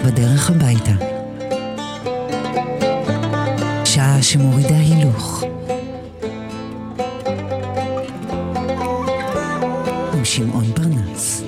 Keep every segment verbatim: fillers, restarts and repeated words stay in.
בדרך הביתה. שעה שמורידה הילוך. עם שמעון פרנס.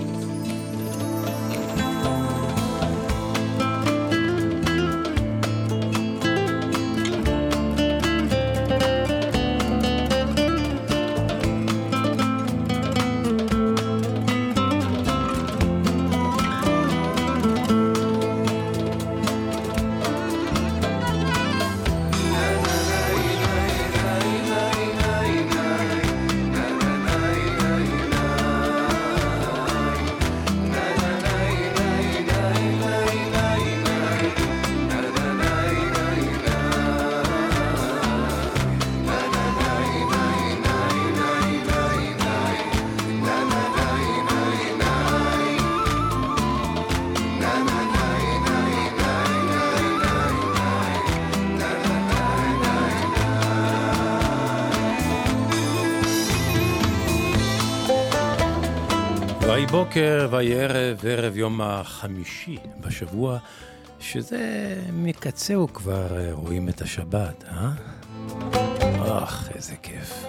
ויהי בוקר, ויהי ערב, ערב יום החמישי בשבוע, שזה מקצהו כבר רואים את השבת, אה? אך, איזה כיף.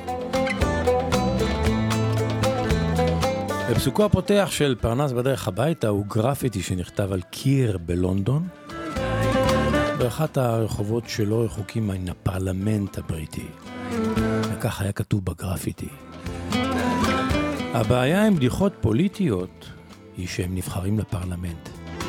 בפסוקו הפותח של פרנס בדרך הביתה הוא גרפיטי שנכתב על קיר בלונדון, באחת הרחובות שלא רחוקים מן הפרלמנט הבריטי. וכך היה כתוב בגרפיטי. הבעיה עם בדיחות פוליטיות היא שהם נבחרים לפרלמנט.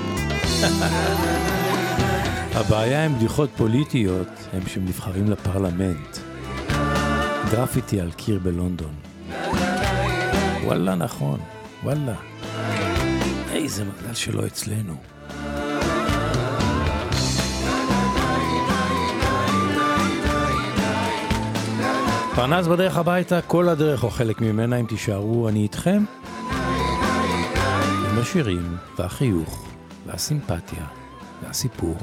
הבעיה עם בדיחות פוליטיות הם שהם נבחרים לפרלמנט. גרפיטי על קיר בלונדון. וואלה נכון, וואלה. איזה מגדל שלא אצלנו. פרנס בדרך הביתה, כל הדרך או חלק ממנה, אם תישארו, אני איתכם. עם השירים והחיוך והסימפתיה והסיפור.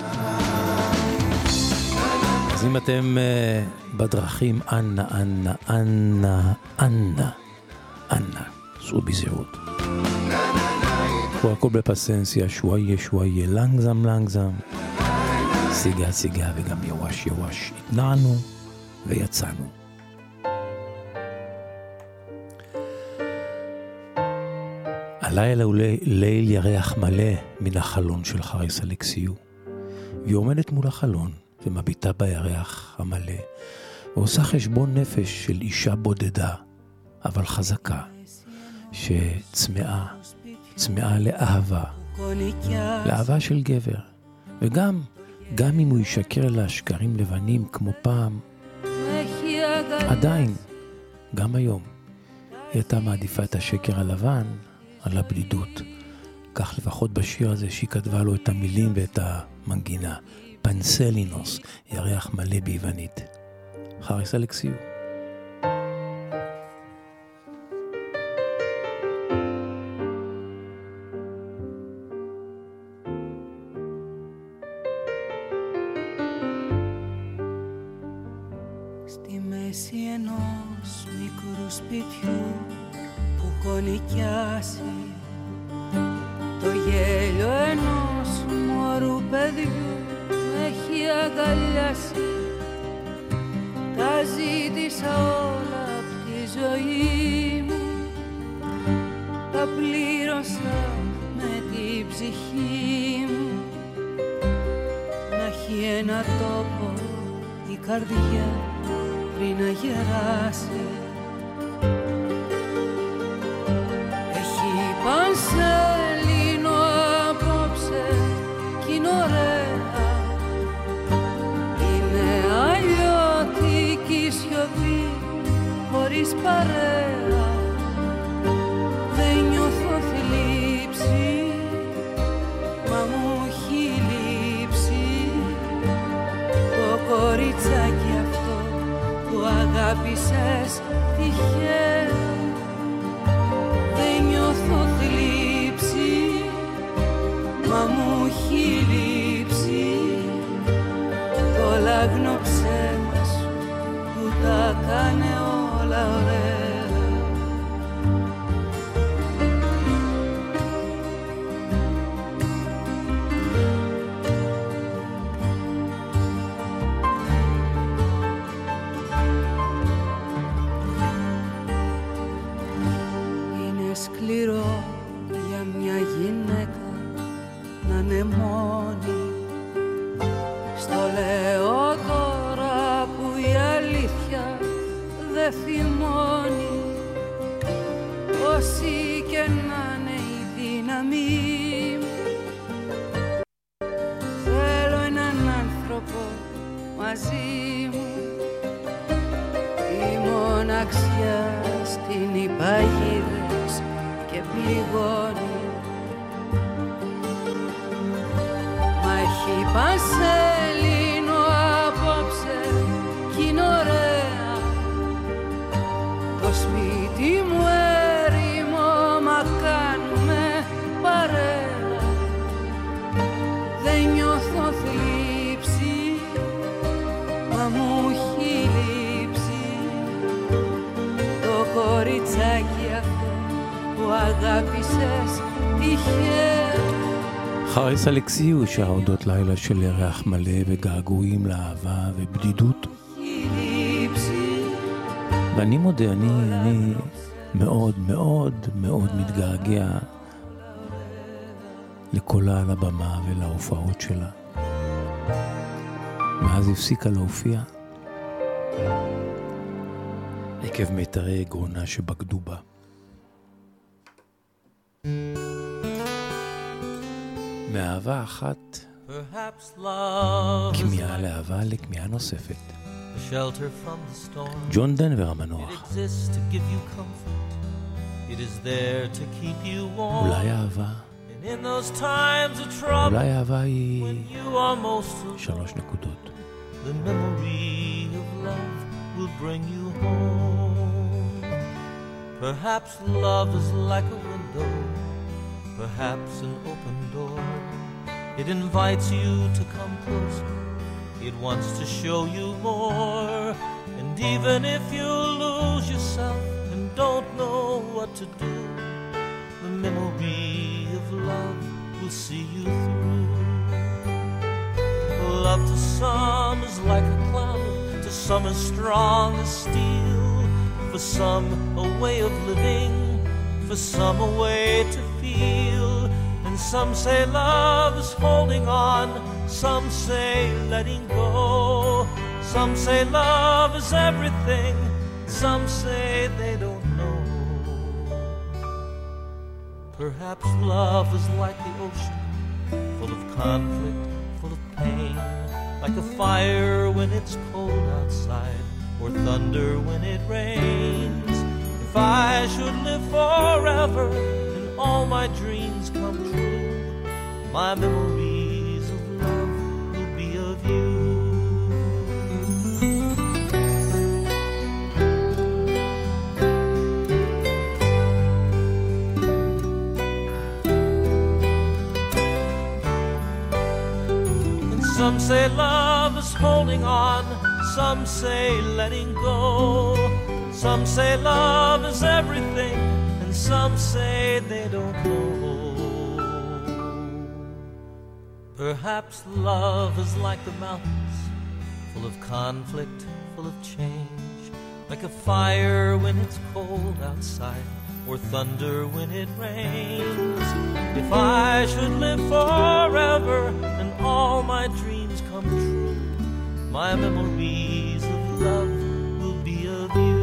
אז אם אתם uh, בדרכים, אנא, אנא, אנא, אנא, אנא, סעו בזהירות. קחו הכל בפסנסיה, שוואיה, שוואיה, לנגזם, לנגזם. סיגה, סיגה וגם יווש, יווש. התנענו ויצאנו. הלילה הוא ליל ירח מלא מן החלון של חריס אלכסיו. והיא עומדת מול החלון ומביטה בירח המלא, ועושה חשבון נפש של אישה בודדה, אבל חזקה, שצמאה, צמאה לאהבה, לאהבה של גבר. וגם, גם אם הוא ישקר לה שקרים לבנים כמו פעם, עדיין, גם היום, היא הייתה מעדיפה את השקר הלבן, על הבדידות. כך לפחות בשיר הזה שהיא כתבה לו את המילים ואת המנגינה. פנסלינוס, ירח מלא ביוונית. חריס אלכסיו. Στη μέση ενός μικρού σπιτιού που έχω νοικιάσει, το γέλιο ενός μωρού παιδιού με έχει αγκαλιάσει. Τα ζήτησα όλα απ' τη ζωή μου, τα πλήρωσα με την ψυχή μου. Να έχει ένα τόπο η καρδιά πριν να γεράσει. Πανσέλινο απόψε κι είναι ωραία. Είναι αλλιώτικη σιωπή χωρίς παρέα. Δεν νιώθω θλίψη, μα μου έχει λείψει το κοριτσάκι αυτό που αγάπησες τυχαία. Δεν νιώθω θλίψη, μα μου έχει λείψει το λάγνο ψέμα σου που τα κάνε όλα ωραία. Στο λέω τώρα που η αλήθεια δε θυμώνει, όσοι και να είναι η δύναμη μου. Θέλω έναν άνθρωπο μαζί μου, η μοναξιά στην υπαγίδες και πληγώνει. Μα έχει πανσέλινο απόψε κι είναι ωραία το σπίτι μου έρημο, μα κάνουμε παρέα. Δεν νιώθω θλίψη, μα μου έχει λείψει το κοριτσάκι αυτό που αγάπησες τυχαία. חריס אלכסיו שר אודות לילה של ירח מלא וגעגועים לאהבה ובדידות. ואני מודה, אני, אני מאוד מאוד מאוד מתגעגע לקולה על הבמה ולהופעות שלה. מאז הפסיקה להופיע עקב מיתרי גרונה שבגדו בה. מאהבה אחת כמיהה לאהבה לכמיהה נוספת. ג'ון דנבר המנוח. אולי אהבה אולי אהבה היא שלוש נקודות. The memory of love will bring you home. Perhaps love is like a window, perhaps an open door. It invites you to come closer, it wants to show you more. And even if you lose yourself and don't know what to do, the memory of love will see you through. Love to some is like a cloud, to some as strong as steel. For some a way of living, for some a way to feel. And some say love is holding on, some say letting go. Some say love is everything, some say they don't know. Perhaps love is like the ocean, full of conflict, full of pain. Like a fire when it's cold outside, or thunder when it rains. If I should live forever and all my dreams come true, my memories of love will be of you. And some say love is holding on, some say letting go. Some say love is everything, and some say they don't know. Perhaps love is like the mountains, full of conflict, full of change. Like a fire when it's cold outside, or thunder when it rains. If I should live forever and all my dreams come true, my memories of love will be of you.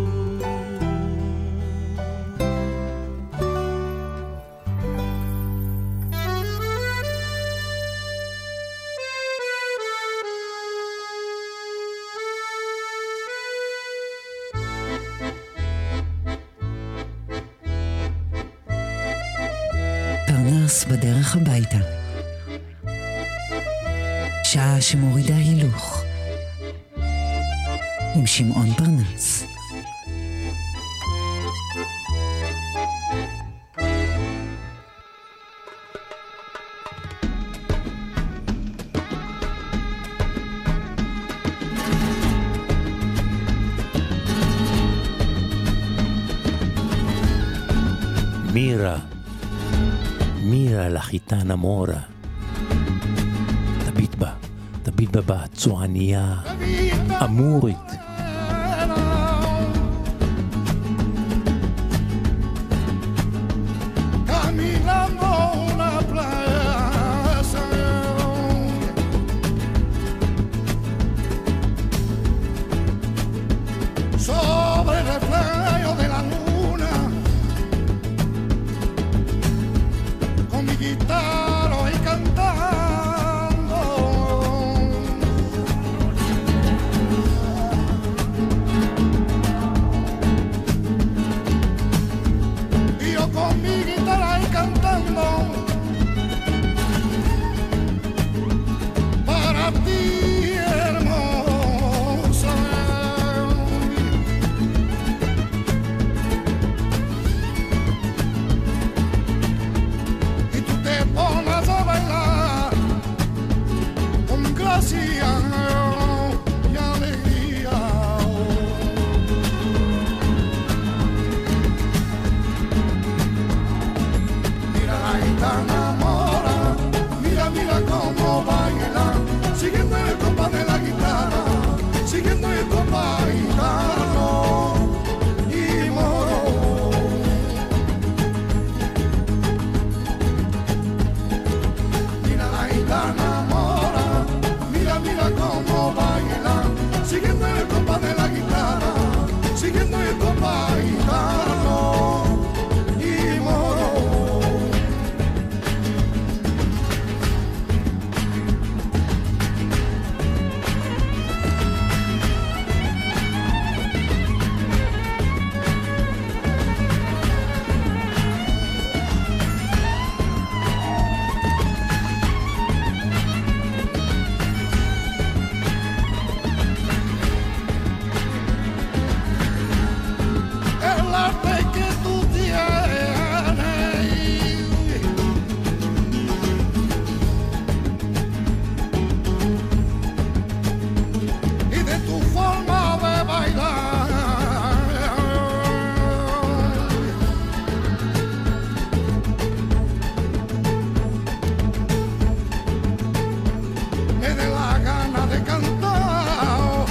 פרנס בדרך הביתה. שעה שמורידה הילוך. עם שמעון פרנס. מירה, מירה לחיטנה מורה. תביט בה, תביט בה בצועניה, אמורית. fantasía y alegría. Mira la gitana mora, mira, mira cómo baila, siguiendo el compás de la guitarra, siguiendo el compás gitano y moro. Mira la gitana mora, mira, mira cómo baila, siguiendo el compás de la guitarra, siguiendo el compás gitano y moro. El arte que tú tienes y de tu forma de bailar me da la gana de cantar.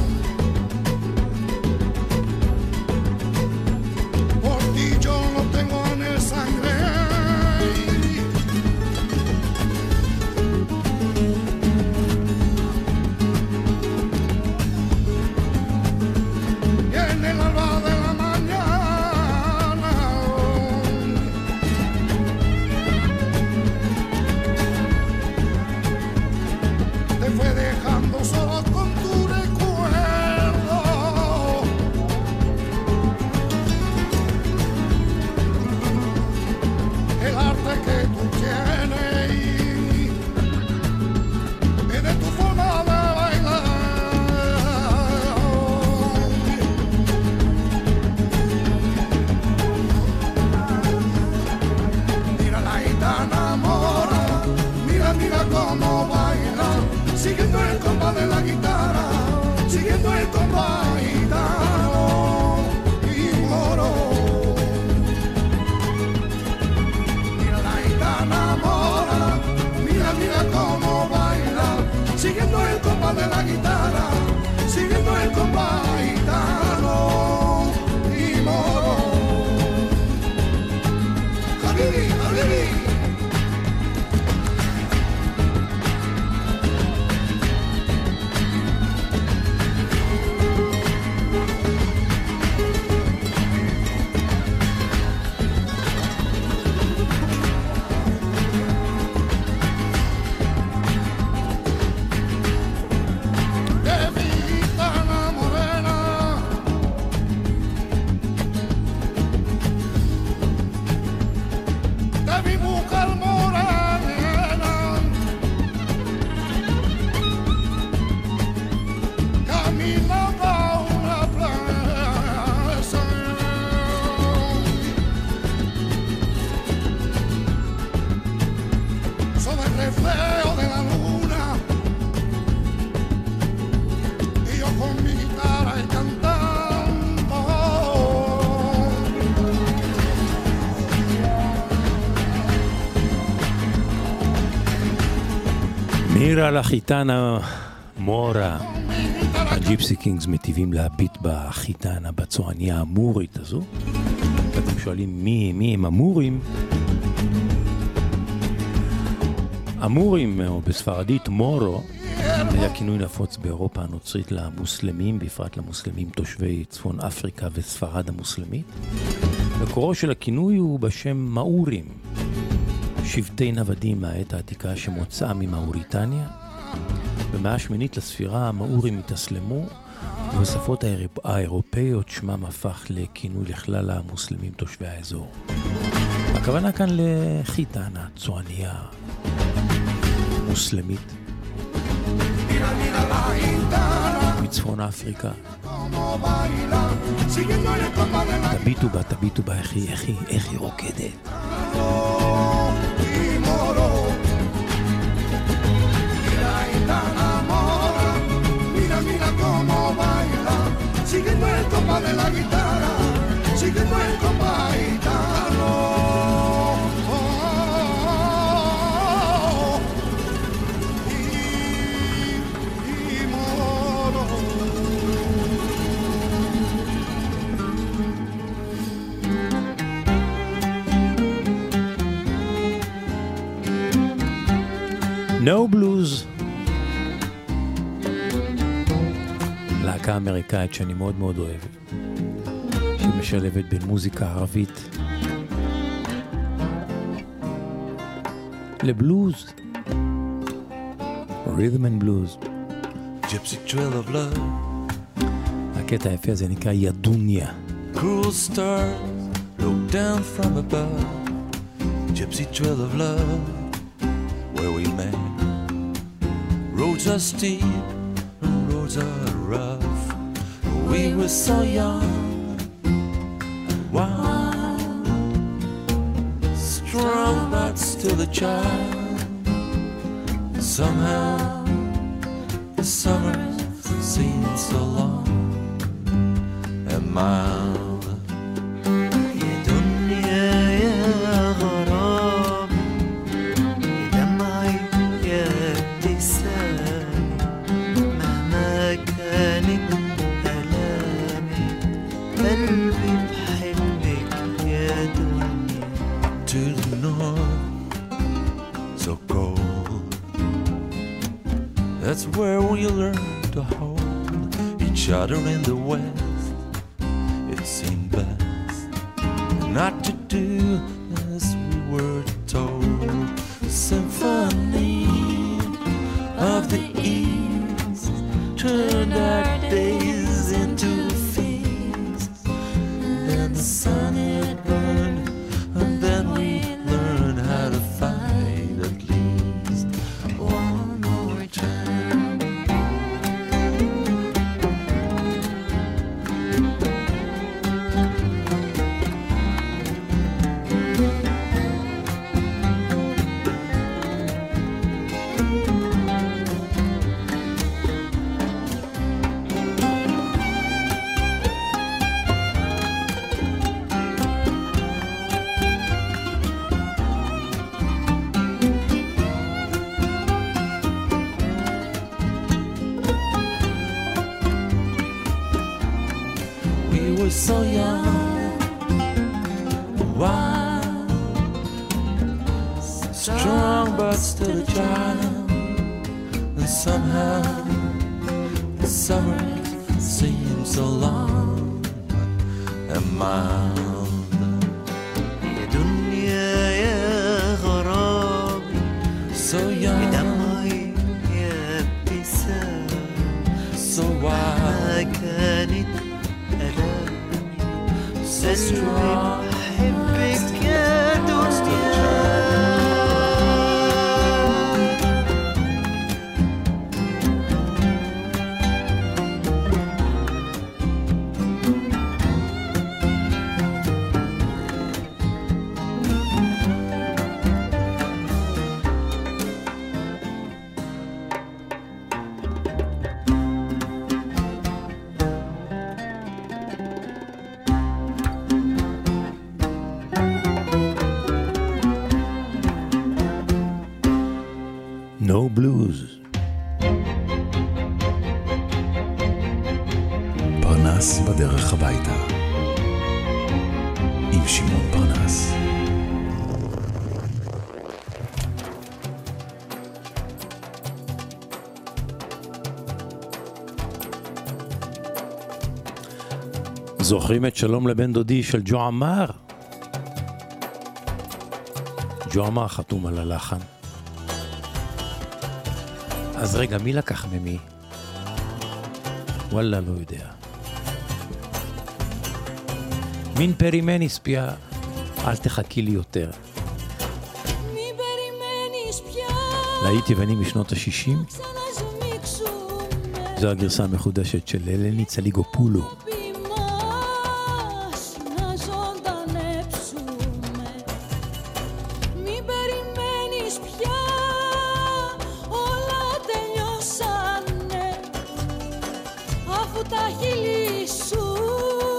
Por ti yo no tengo en el sangre. Y en el alba de la mañana te fue dejando solo con tu recuerdo. El arte que tú tienes y de tu forma de bailar. Mira la gitana mora, mira, mira cómo baila, siguiendo el compás de la guitarra, siguiendo el compás gitano y moro. Mira la gitana mora, mira, mira cómo baila, siguiendo el compás de la guitarra, siguiendo el compás gitano y moro. Habibi, habibi. De mi gitana morena, de mi mujer morena, caminando a una plaza, sobre el reflejo de la luna, y yo con mi guitarra y cantando. מירה לחיטנה מורה. הג'יפסי קינגס מטיבים להביט בחיטנה, בצועניה המורית הזו. אתם שואלים מי, מי הם המורים? המורים, או בספרדית מורו, היה כינוי נפוץ באירופה הנוצרית למוסלמים, בפרט למוסלמים תושבי צפון אפריקה וספרד המוסלמית. מקורו של הכינוי הוא בשם מאורים, שבטי נוודים מהעת העתיקה שמוצאה ממאוריטניה. במאה השמינית לספירה המאורים התאסלמו, ובשפות האירופאיות שמם הפך לכינוי לכלל המוסלמים תושבי האזור. הכוונה כאן לחיטנה, צועניה מוסלמית מצפון אפריקה. תביטו בה, תביטו בה, איך היא, איך היא, איך היא רוקדת. Mira, gitana copa de la guitarra, siguiendo el compa gitano. No Blues, להקה אמריקאית שאני מאוד מאוד אוהב, שמשלבת בין מוזיקה ערבית לבלוז, Rhythm and Blues. Gypsy trail of love, הקטע היפה הזה נקרא ידוניה. cruel stars look down from above. Gypsy trail of love, where we met. Roads are steep, roads are rough. We were so young, wild, strong but still a child. Somehow the summers seem so long and mild. That's where we learn to hold each other in the west. It seemed best not to do as we were told. The symphony of the east turned our days into feasts. Then the sun it burned, and then we learned how to fight at least one more time. So young, wild, strong but still a child. And somehow the summers seem so long and mild. يا دنيا يا غرامي so young, بدمعي يا ابتسام so wild. كانت so strong, أحبك يا دنيا. No Blues. פרנס בדרך הביתה עם שמעון פרנס. זוכרים את שלום לבן דודי של ג'ו עמר? ג'ו עמר חתום על הלחן. אז רגע, מי לקח ממי? וואלה, לא יודע. מין פרימניס פיה, אל תחכי לי יותר. להיט יווני משנות ה-שישים. זו הגרסה המחודשת של אלני צליגופולו. Τα χείλη σου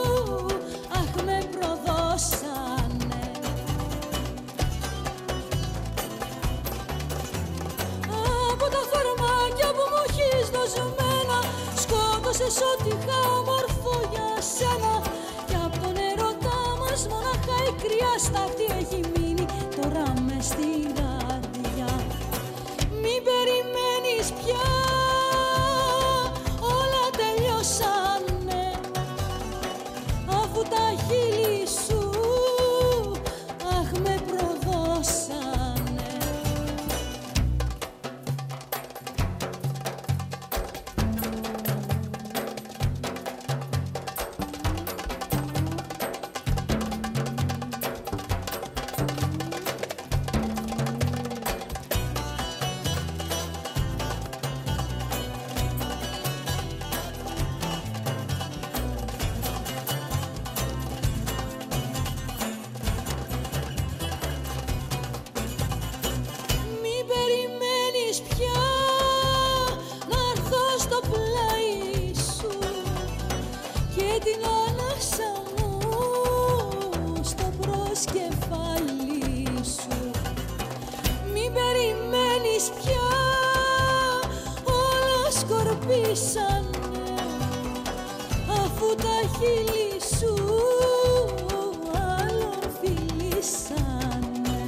Σκότωσες ό,τι είχα όμορφο για σένα. Κι απ' τον ερωτά μας μονάχα η κρυά στάχτη έχει μείνει τώρα μες στην καρδιά. Μην περιμένεις πια, όλα τελειώσανε, αφού τα χείλη σου αχ με προδώσανε. Αφού τα χείλη σου άλλον φιλήσανε.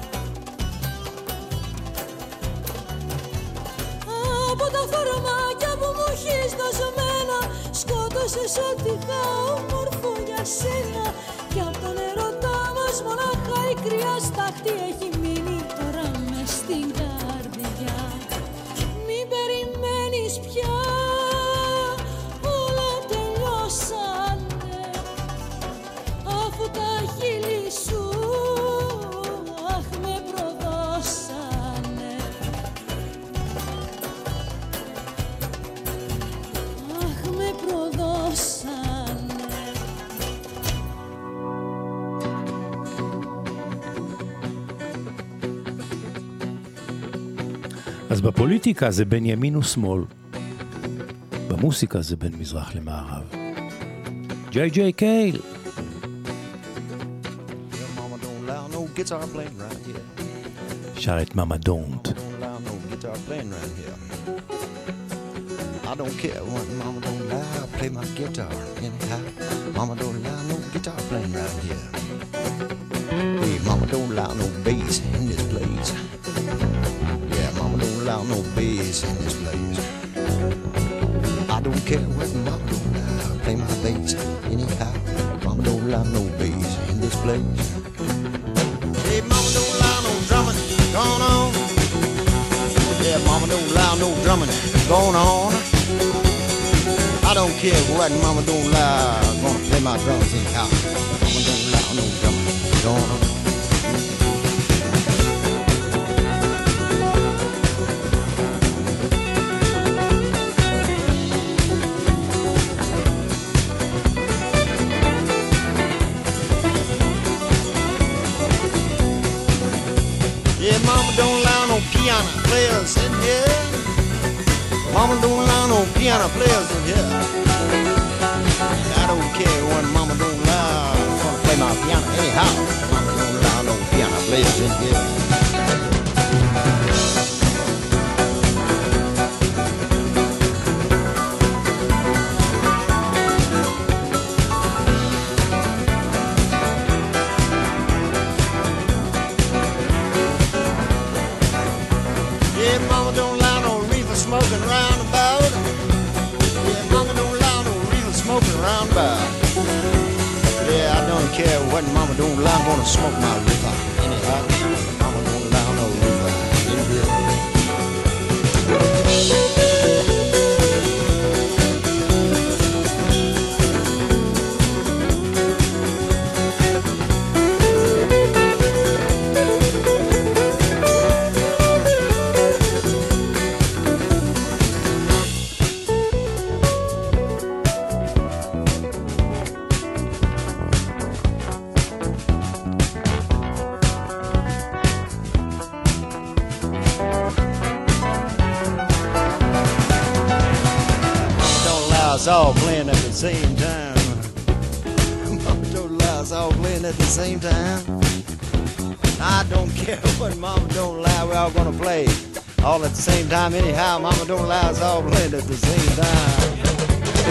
Από τα φορμάκια που μου έχεις δοσμένα σκότωσες ό,τι είχα όμορφο για σένα. Κι απ' τον ερωτά μας μονάχα η κρυά στάχτη έχει μείνει τώρα μες στην καρδιά. Μην περιμένεις πια, όλα τελειώσανε, αφού τα χείλη σου αχ με προδώσανε. Αχ με προδώσανε. אז בפוליטיקה זה בין ימין ושמאל, במוסיקה זה בין מזרח למערב. ג'יי ג'יי קייל. שר את מאמה דונט. I don't care what mama don't lie, I play my guitar anyhow. Mama don't lie, no guitar playing right here. Hey, mama don't allow no bass in this place. Yeah, mama don't allow no bass in this place. I don't care what mama don't lie, I play my bass anyhow. Mama don't allow no bass in this place. Hey, mama don't allow no drumming going on. Yeah, mama don't allow no drumming going on. I don't care what mama don't lie, I'm gonna play my drums anyhow. Mama don't allow no drumming going on. Yeah, mama don't allow no piano players in here. Mama don't allow no piano players in here. I don't care when mama don't allow, I'm gonna play my piano anyhow. Mama don't allow no piano players in here. Yeah, mama don't allow no reefer smoking round about. Yeah, mama don't allow no reefer smoking round about. Yeah, I don't care what mama don't allow, I'm gonna smoke my reefer anyhow. Mama don't allow no reefer in here. Us all playing at the same time. Mama don't allow us all playing at the same time. I don't care what mama don't allow, we're all gonna play all at the same time anyhow. Mama don't allow us all playing at the same time.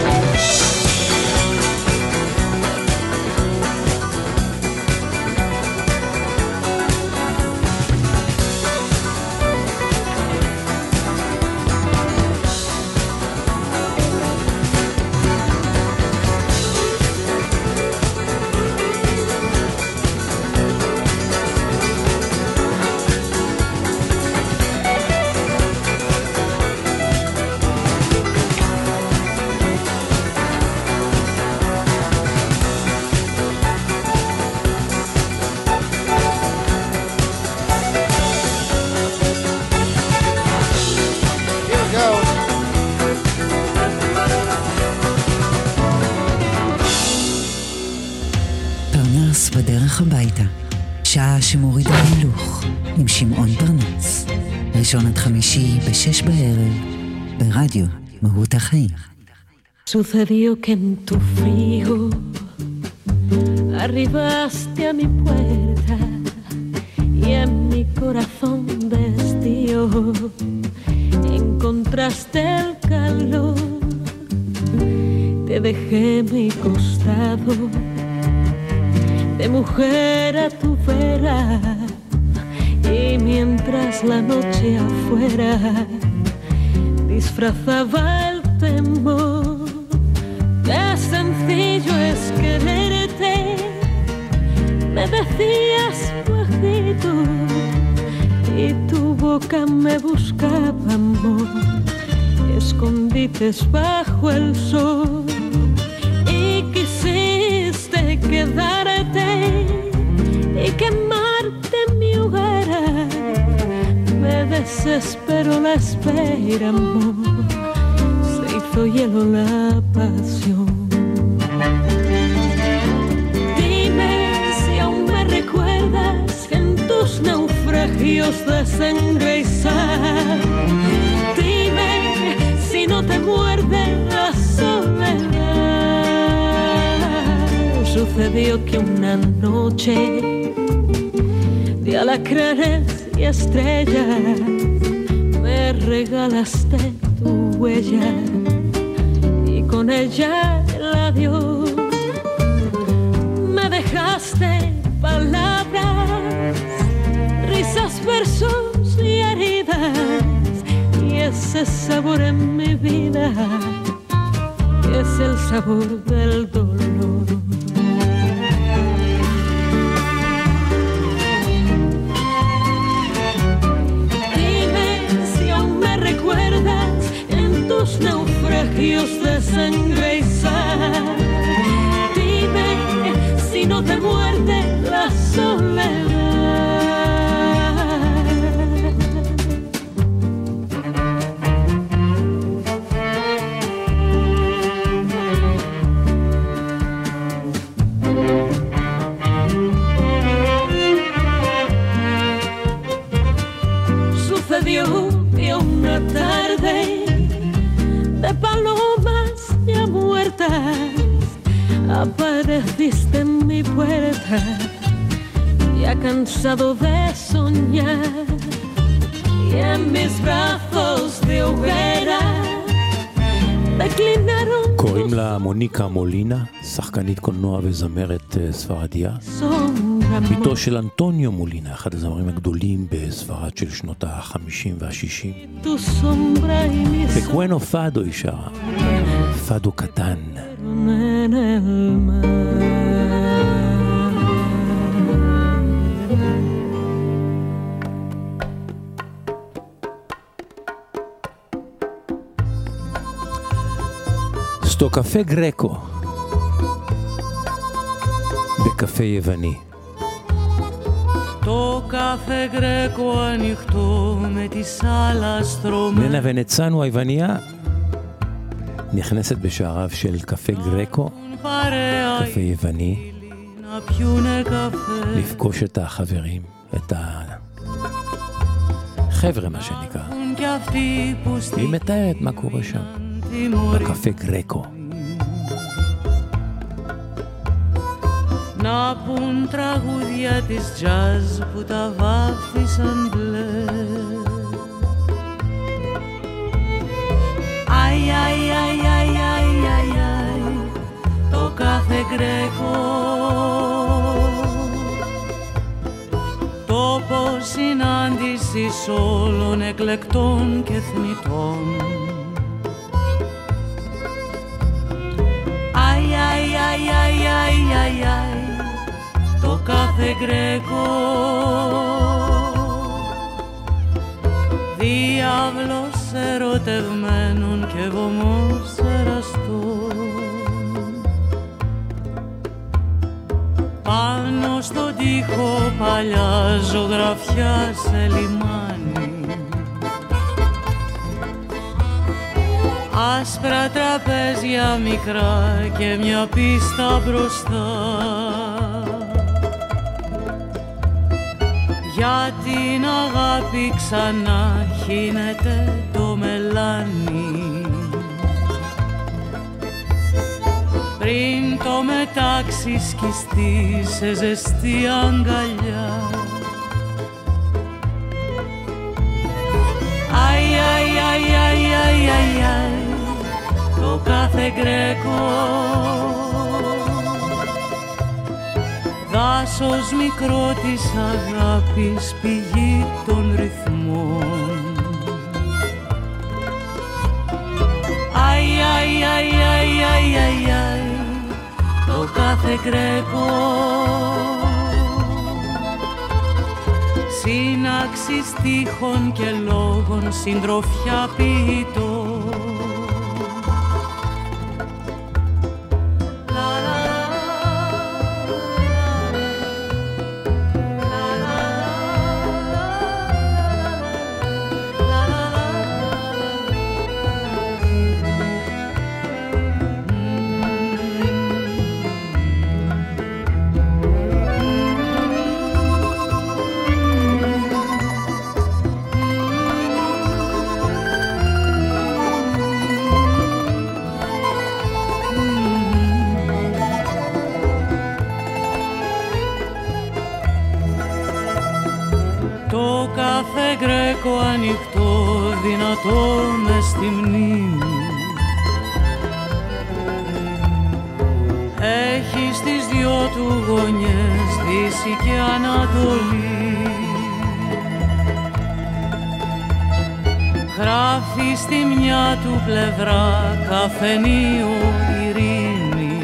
בדרך הביתה, שעה שמורידה הילוך, עם שמעון פרנס, ראשון עד חמישי בשש בערב, ברדיו מהות החיים. Sucedió que en tu frío arribaste a mi puerta y en mi corazón destío encontraste el calor. Te dejé mi costado de mujer a tu vera y mientras la noche afuera disfrazaba el temor, qué sencillo es quererte, me decías bajito y tu boca me buscaba amor, escondites bajo el sol y quisiste quedarte y quemarte mi hoguera. Me desespero la espera, amor, se hizo hielo la pasión. Dime si aún me recuerdas en tus naufragios de sangre y sal. Dime si no te muerde la soledad. Sucedió que una noche de alacranes y estrellas me regalaste tu huella y con ella el adiós. Me dejaste palabras, risas, versos y heridas y ese sabor en mi vida es el sabor del dolor. Naufragios de sangre y sal. Dime si no te muerde la soledad. Sucedió que una tarde de palomas ya muertas apareciste en mi puerta, ya cansado de soñar y en mis brazos de hoguera declinaron. קוראים לה מוניקה מולינה, שחקנית קולנוע וזמרת ספרדיה, ביתו של אנטוניו מולינה, אחד הזמרים הגדולים בספרד של שנות ה-חמישים וה-שישים. בקואנו פאדו היא שרה, פאדו קטן. סטו קפה גרקו בקפה יווני. Το καφέ γκρέκο ανοιχτό με τη σάλα στρωμένη. ננה ונצנו היווניה נכנסת בשעריו של קפה גרקו, קפה יווני, לפגוש את החברים, את החבר'ה מה שנקרא. היא מתארת מה קורה שם בקפה גרקו. Να πουν τραγούδια της τζαζ που τα βάφτισαν μπλε. Αι, αι, αι, αι, αι, αι, αι. συνάντησης όλων εκλεκτών και θνητών. Αι, αι, αι, αι, αι, αι, αι, το κάθε Γκρέκο διάβλος ερωτευμένων και βωμός εραστών. Πάνω στον τοίχο παλιά ζωγραφιά σε λιμάνι, άσπρα τραπέζια μικρά και μια πίστα μπροστά. Για την αγάπη ξανά χύνεται το μελάνι, πριν το μετάξι σκιστεί σε ζεστή αγκαλιά. Αι, αι, αι, αι, αι, αι, αι, το κάθε Γκρέκο δάσος μικρό της αγάπης, πηγή των ρυθμών. Αι, αι, αι, αι, αι, αι, αι, το κάθε Γκρέκο σύναξη στίχων και λόγων, συντροφιά ποιητών. Γκρέκο ανοιχτό, δυνατό μες στη μνήμη, έχει στις δυο του γωνιές Δύση και Ανατολή. Γράφει στη μια του πλευρά καφενείο ειρήνη,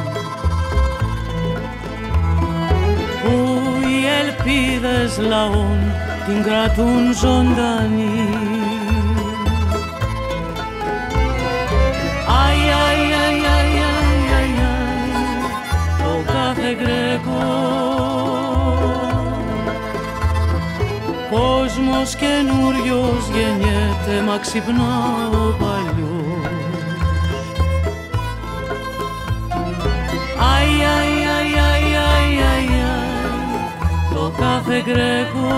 που οι ελπίδες λαών την κρατούν ζωντανή. Αι, αι, αι, αι, αι, αι, αι, το κάθε Γκρέκο κόσμος καινούριος γεννιέται, μα ξυπνά ο παλιός. Αι, αι, αι, αι, αι, αι, αι, το κάθε Γκρέκο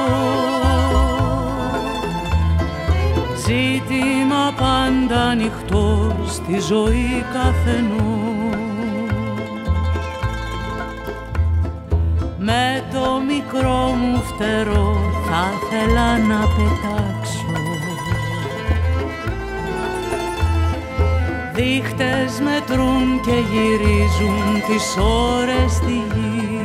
ζήτημα πάντα ανοιχτό στη ζωή καθενός. Με το μικρό μου φτερό θα ήθελα να πετάξω, δείχτες μετρούν και γυρίζουν τις ώρες στη γη.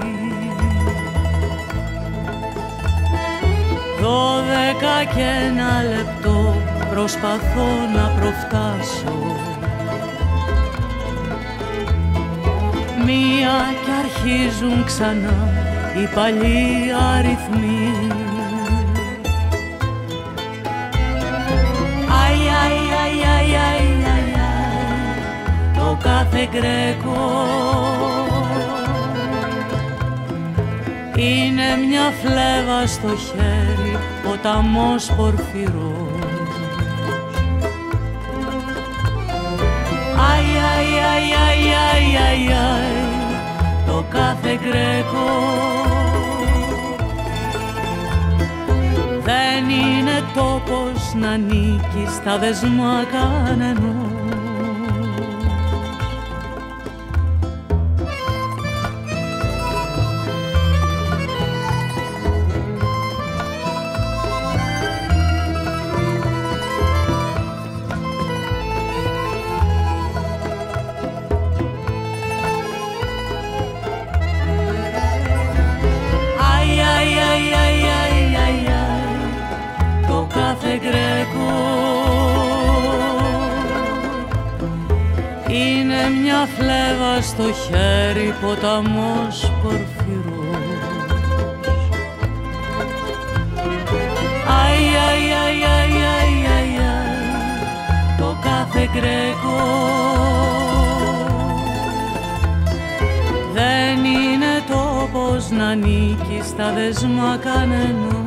Δώδεκα και ένα λεπτό προσπαθώ να προφτάσω, μία κι αρχίζουν ξανά οι παλιοί αριθμοί. Αι, αι, αι, αι, αι, αι, αι, το κάθε Γκρέκο είναι μια φλέβα στο χέρι, ποταμός πορφυρός. Αι, αι, αι, αι, αι, αι, αι, το κάθε Γκρέκο δεν είναι τόπος να ανήκει στα δεσμά κανενός. Αι, αι, αι, αι, αι, είναι μια φλέβα στο χέρι, ποταμός πορφυρός. Αι, αι, αι, αι, αι, αι, αι, το κάθε γκρέκο δεν είναι τόπος να ανήκει στα δεσμά κανενός.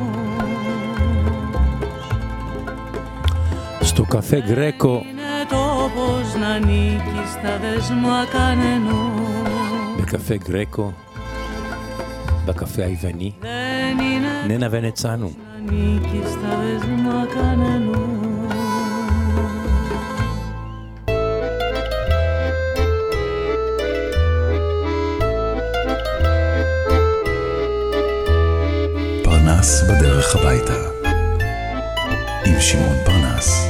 Στο καφέ Γκρέκο τόπος να ανήκει στα δεσμά κανενός. בקפה גרקו, בקפה היווני, ננה ונצאנו. ανήκει στα δεσμά κανενός. פרנס בדרך הביתה עם שמעון פרנס.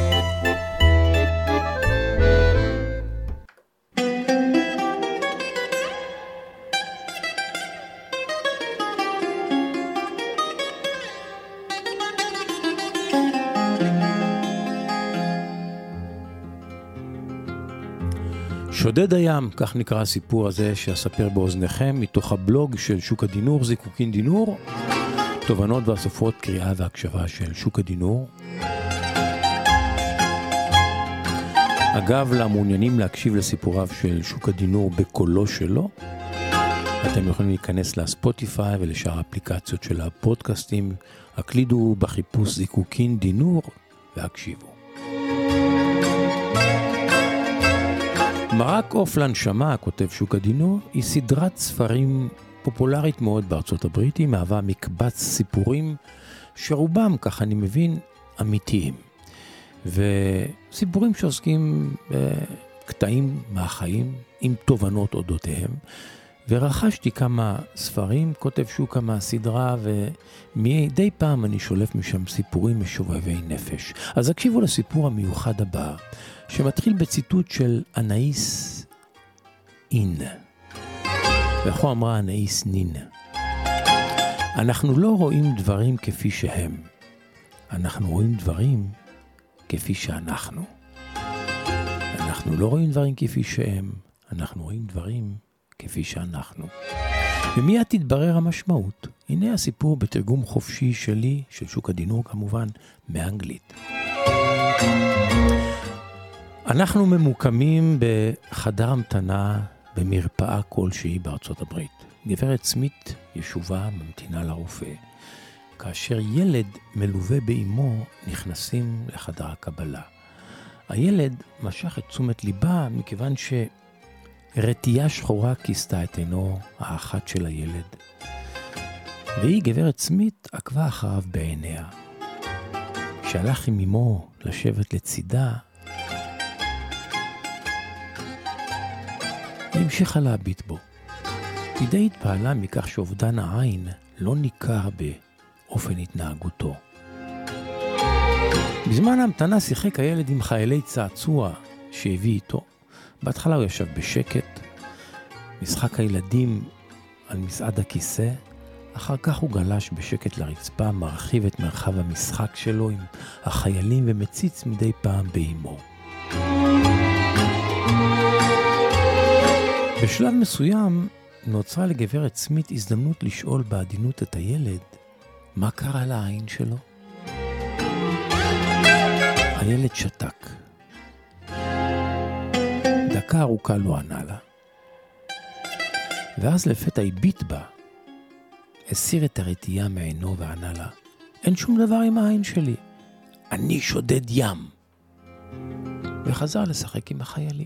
שודד הים, כך נקרא הסיפור הזה שאספר באוזניכם מתוך הבלוג של שוק הדינור, זיקוקין דינור, תובנות ואסופות קריאה והקשבה של שוק הדינור. אגב, למעוניינים להקשיב לסיפוריו של שוק הדינור בקולו שלו, אתם יכולים להיכנס לספוטיפיי ולשאר האפליקציות של הפודקאסטים, הקלידו בחיפוש זיקוקין דינור והקשיבו. מרק עוף לנשמה, כותב שוק הדינור, היא סדרת ספרים פופולרית מאוד בארצות הברית. היא מהווה מקבץ סיפורים שרובם, כך אני מבין, אמיתיים. וסיפורים שעוסקים בקטעים מהחיים עם תובנות אודותיהם. ורכשתי כמה ספרים, כותב שוק כמה סדרה, ומדי פעם אני שולף משם סיפורים משובבי נפש. אז הקשיבו לסיפור המיוחד הבא, שמתחיל בציטוט של אנאיס אין. ואיך אמרה אנאיס נין? אנחנו לא רואים דברים כפי שהם. אנחנו רואים דברים כפי שאנחנו. אנחנו לא רואים דברים כפי שהם. אנחנו רואים דברים כפי שאנחנו. ומיד תתברר המשמעות. הנה הסיפור בתרגום חופשי שלי, של שוק הדינור כמובן, מאנגלית. אנחנו ממוקמים בחדר המתנה במרפאה כלשהי בארצות הברית. גברת סמית ישובה ממתינה לרופא. כאשר ילד מלווה באמו נכנסים לחדר הקבלה. הילד משך את תשומת ליבה מכיוון שרטייה שחורה כיסתה את עינו האחת של הילד. והיא, גברת סמית, עקבה אחריו בעיניה. כשהלך עם אמו לשבת לצידה, היא המשיכה להביט בו. היא די התפעלה מכך שאובדן העין לא ניכר באופן התנהגותו. בזמן ההמתנה שיחק הילד עם חיילי צעצוע שהביא איתו. בהתחלה הוא ישב בשקט, משחק הילדים על מסעד הכיסא, אחר כך הוא גלש בשקט לרצפה, מרחיב את מרחב המשחק שלו עם החיילים ומציץ מדי פעם באמו. בשלב מסוים נוצרה לגברת סמית הזדמנות לשאול בעדינות את הילד מה קרה לעין שלו. הילד שתק. דקה ארוכה לא ענה לה. ואז לפתע הביט בה, הסיר את הרטייה מעינו וענה לה, אין שום דבר עם העין שלי, אני שודד ים. וחזר לשחק עם החיילים.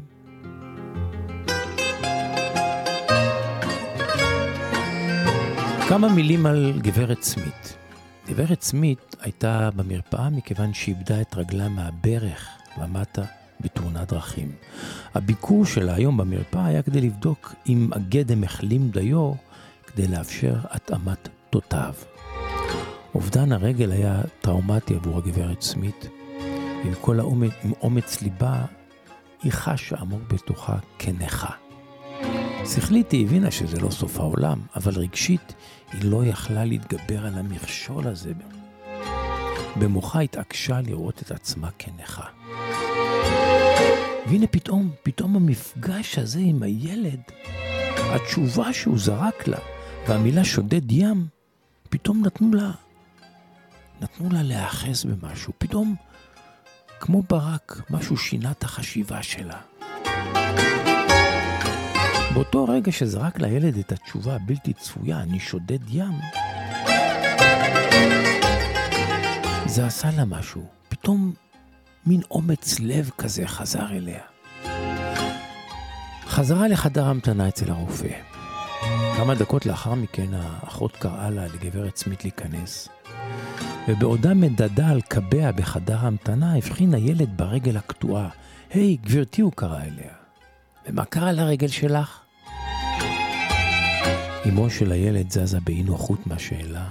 כמה מילים על גברת סמית. גברת סמית הייתה במרפאה מכיוון שאיבדה את רגלה מהברך ומטה בתאונת דרכים. הביקור שלה היום במרפאה היה כדי לבדוק אם הגדם החלים דיו כדי לאפשר התאמת תותיו. אובדן הרגל היה טראומטי עבור הגברת סמית. עם כל האומץ, עם אומץ ליבה, היא חשה עמוק בתוכה כנכה. שכלית היא הבינה שזה לא סוף העולם, אבל רגשית היא לא יכלה להתגבר על המכשול הזה. במוחה התעקשה לראות את עצמה כנכה. והנה פתאום, פתאום המפגש הזה עם הילד, התשובה שהוא זרק לה, והמילה שודד ים, פתאום נתנו לה, נתנו לה להאחז במשהו. פתאום, כמו ברק, משהו שינה את החשיבה שלה. באותו רגע שזרק לילד את התשובה הבלתי צפויה, אני שודד ים, זה עשה לה משהו. פתאום מין אומץ לב כזה חזר אליה. חזרה לחדר המתנה אצל הרופא. כמה דקות לאחר מכן האחות קראה לה לגברת סמית להיכנס, ובעודה מדדה על קבע בחדר המתנה הבחין הילד ברגל הקטועה. היי, hey, גברתי, הוא קרא אליה. ומה קרה לרגל שלך? אמו של הילד זזה באי נוחות מהשאלה,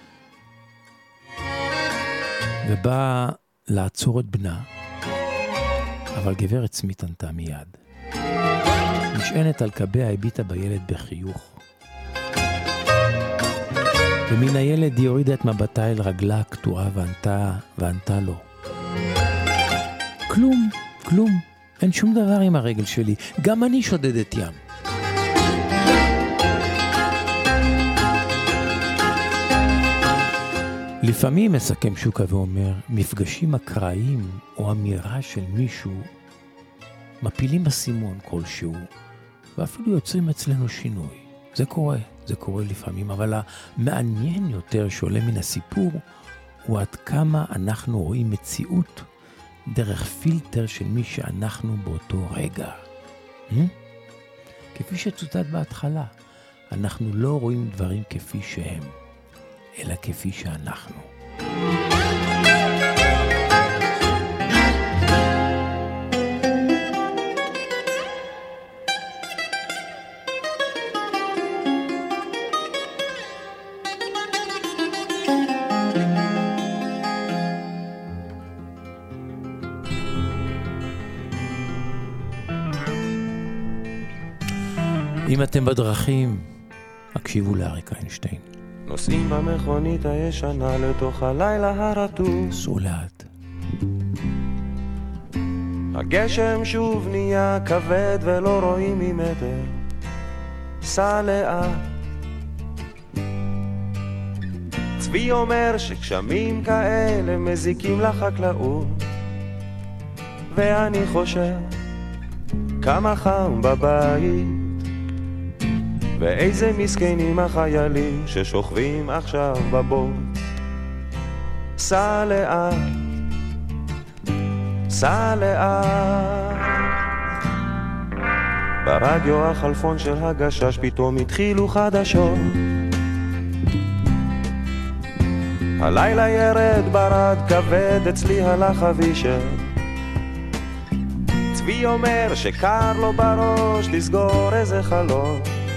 ובאה לעצור את בנה, אבל גברת סמית ענתה מיד. נשענת על קבע הביטה בילד בחיוך, ומן הילד היא הורידה את מבטה אל רגלה הקטועה וענתה, וענתה לו. כלום, כלום, אין שום דבר עם הרגל שלי, גם אני שודדת ים. לפעמים מסכם שוקה ואומר, מפגשים אקראיים או אמירה של מישהו מפילים בסימון כלשהו, ואפילו יוצרים אצלנו שינוי. זה קורה, זה קורה לפעמים, אבל המעניין יותר שעולה מן הסיפור הוא עד כמה אנחנו רואים מציאות דרך פילטר של מי שאנחנו באותו רגע. Hmm? כפי שצוטט בהתחלה, אנחנו לא רואים דברים כפי שהם, אלא כפי שאנחנו. אם אתם בדרכים, הקשיבו לאריק איינשטיין. נוסעים במכונית הישנה לתוך הלילה הרטוב, סעו לאט. הגשם שוב נהיה כבד ולא רואים ממטר, סע לאט. צבי אומר שגשמים כאלה מזיקים לחקלאות, ואני חושב כמה חם בבית, ואיזה מסכנים החיילים ששוכבים עכשיו בבוץ. סע לאט, סע לאט. ברדיו החלפון של הגשש פתאום התחילו חדשות. הלילה ירד ברד כבד, אצלי הלך אבישר. צבי אומר שקר לו בראש לסגור איזה חלון,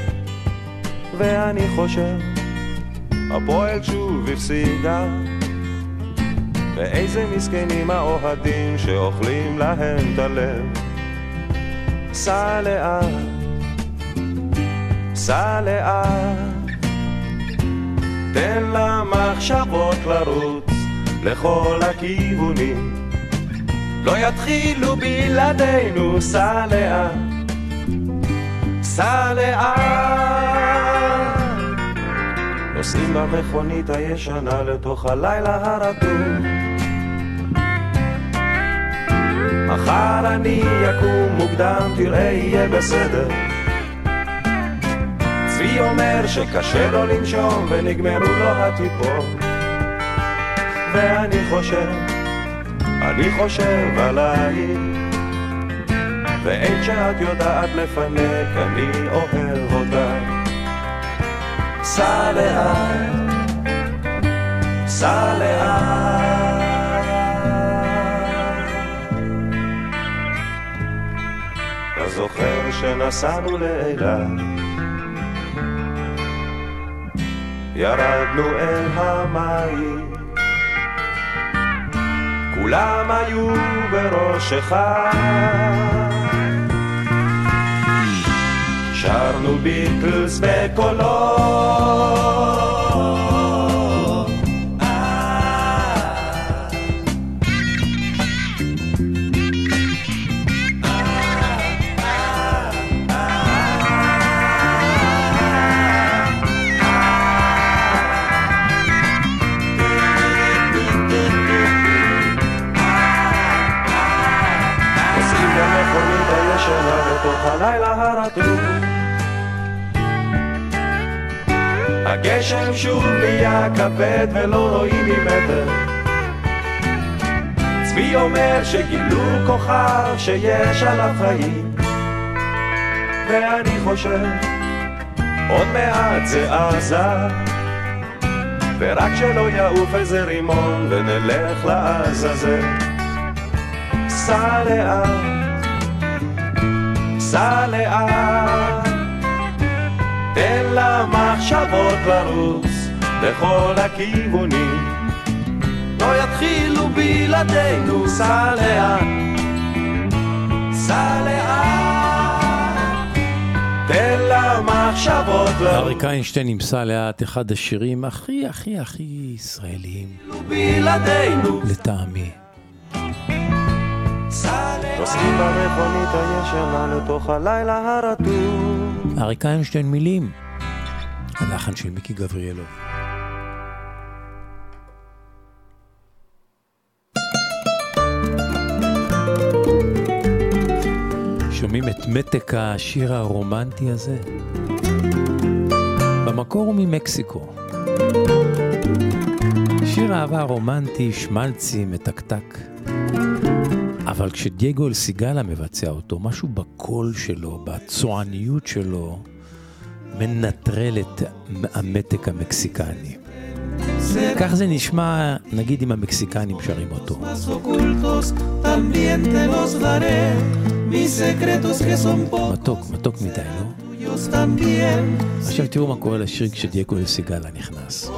ואני חושב הפועל שוב הפסידה, ואיזה מסכנים האוהדים שאוכלים להם את הלב. סע לאט, סע לאט, תן למחשבות לרוץ לכל הכיוונים, לא יתחילו בלעדינו. סע לאט, סע לאט. נוסעים במכונית הישנה לתוך הלילה הרטוב, מחר אני יקום מוקדם, תראה יהיה בסדר. צבי אומר שקשה לו לנשום ונגמרו לו הטיפות, ואני חושב, אני חושב עלייך, ואין שאת יודעת לפנק, אני אוהב אותך. סע לאט, סע לאט. אתה זוכר שנסענו לאילת, ירדנו אל המים, כולם היו בראש אחד, שרנו ביטלס בקולות, הלילה הרטוב. הגשם שוב נהיה כבד ולא רואים ממטר. צבי אומר שגילו כוכב שיש עליו חיים, ואני חושב עוד מעט זה עזה, ורק שלא יעוף איזה רימון ונלך לעזאזל. סע לאט, סע לאט, תן למחשבות לרוץ בכל הכיוונים, לא יתחילו בלעדינו. סע לאט, סע לאט, תן למחשבות לרוץ. אריק איינשטיין נמצא לאט, אחד השירים הכי הכי הכי ישראליים לטעמי. נוסעים במכונית הישנה לתוך הלילה הרטוב. אריק איינשטיין מילים, הלחן של מיקי גבריאלוב. שומעים את מתק השיר הרומנטי הזה? במקור הוא ממקסיקו. שיר אהבה רומנטי, שמלצי, מתקתק. אבל כשדייגו אלסיגלה מבצע אותו, משהו בקול שלו, בצועניות שלו, מנטרל את המתק המקסיקני. כך זה נשמע, נגיד אם המקסיקנים שרים אותו. מתוק, מתוק מדי, לא? עכשיו תראו מה קורה לשיר כשדייגו אלסיגלה נכנס.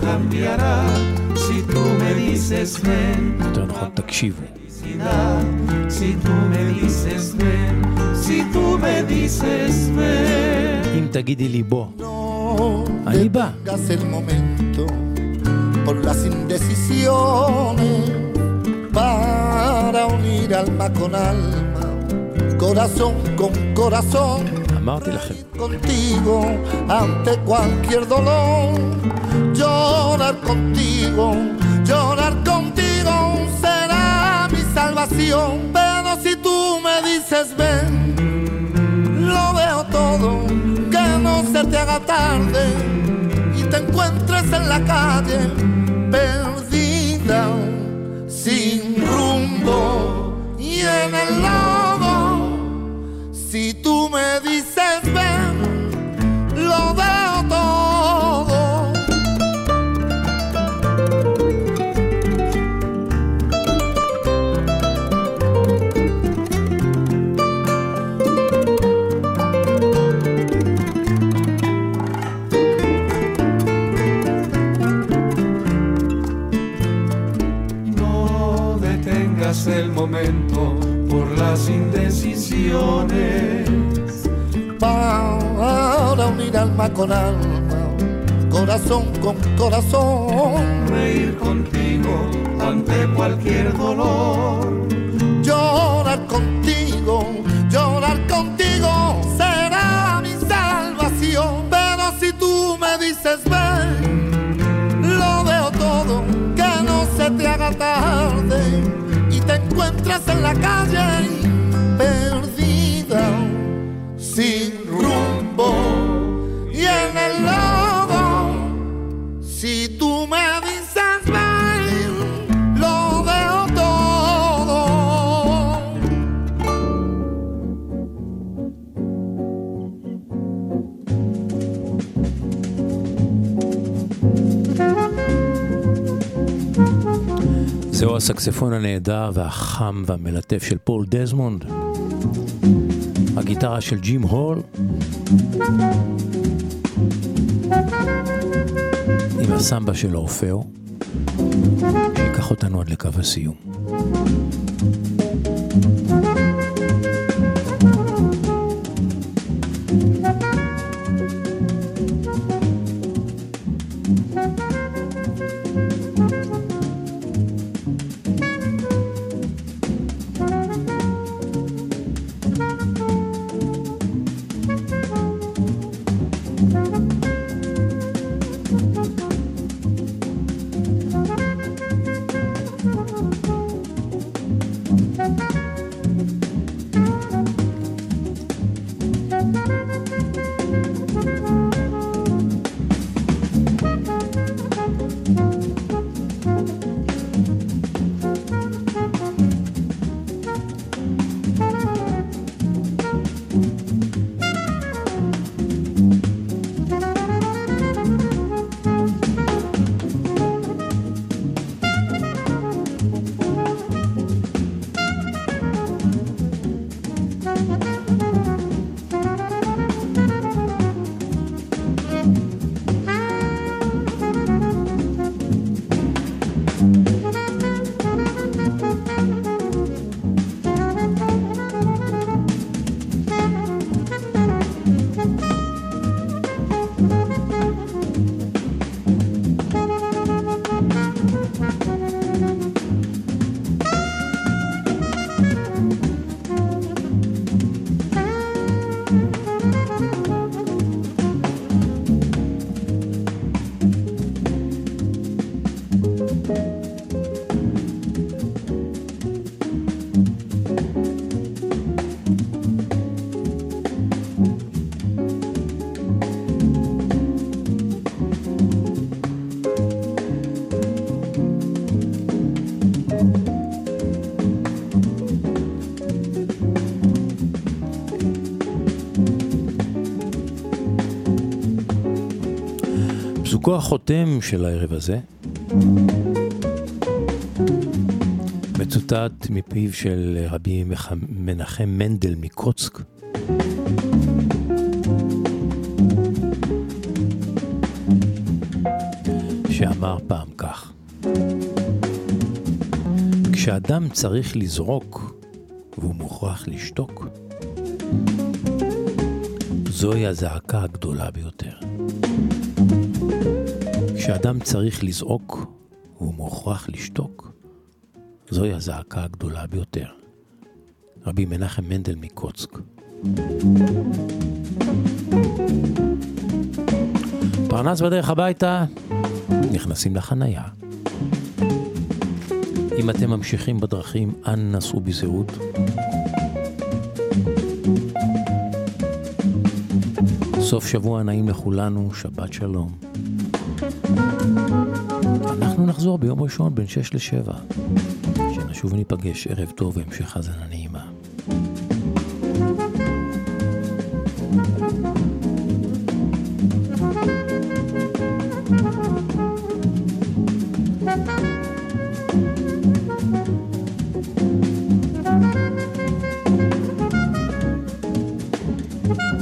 יותר נכון, תקשיבו. Si tú me dices ven, si tú me dices ven. אם תגידי לי בוא, אני בא. El momento por las indecisiones para unir alma con alma, corazón con corazón. אמרתי לכם. Contigo ante cualquier dolor, llorar contigo, llorar contigo será mi salvación. Pero si tú me dices ven, lo veo todo, que no se te haga tarde y te encuentres en la calle perdida, sin rumbo y en el lodo. Si tú me dices ven, lo veo todo. El momento por las indecisiones para unir alma con alma, corazón con corazón, reír contigo ante cualquier dolor, llorar contigo, llorar contigo será mi salvación. Pero si tú me dices ven, lo veo todo, que no se te haga tarde y te encuentras en la calle perdida, sin rumbo y en el lodo. Si tú me dices ven, lo veo todo. זהו הסקספון הנהדר והחם והמלטף של פול דזמונד, הגיטרה של ג'ים הול, עם הסמבה של אורפאו, שיקח אותנו עד לקו הסיום. פסוקו החותם של הערב הזה מצוטט מפיו של רבי מנחם מנדל מקוצק, שאמר פעם כך: כשאדם צריך לזרוק והוא מוכרח לשתוק, זוהי הזעקה הגדולה ביותר. כשאדם צריך לזעוק והוא מוכרח לשתוק, זוהי הזעקה הגדולה ביותר. רבי מנחם מנדל מקוצק. פרנס בדרך הביתה, נכנסים לחנייה. אם אתם ממשיכים בדרכים, אנא נסעו בזהירות. סוף שבוע נעים לכולנו, שבת שלום. אנחנו נחזור ביום ראשון בין שש לשבע. שנשוב וניפגש, ערב טוב והמשך האזנה נעימה. Thank you.